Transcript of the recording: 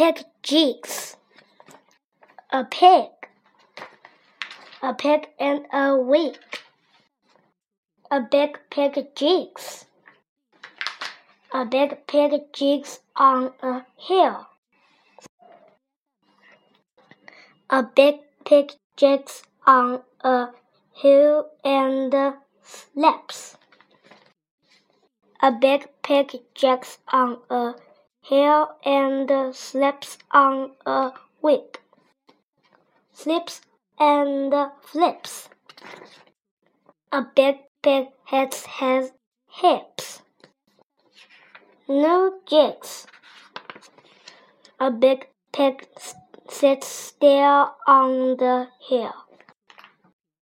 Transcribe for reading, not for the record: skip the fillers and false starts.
pig jigs. A pig and a wig. A big pig jigs. A big pig jigs on a hill. A big pig jigs on a hill and slips. A big pig jigs on a hill and slips on a wig. Slips and flips. A big pig has hips. No jigs. A big pig sits still on the hill.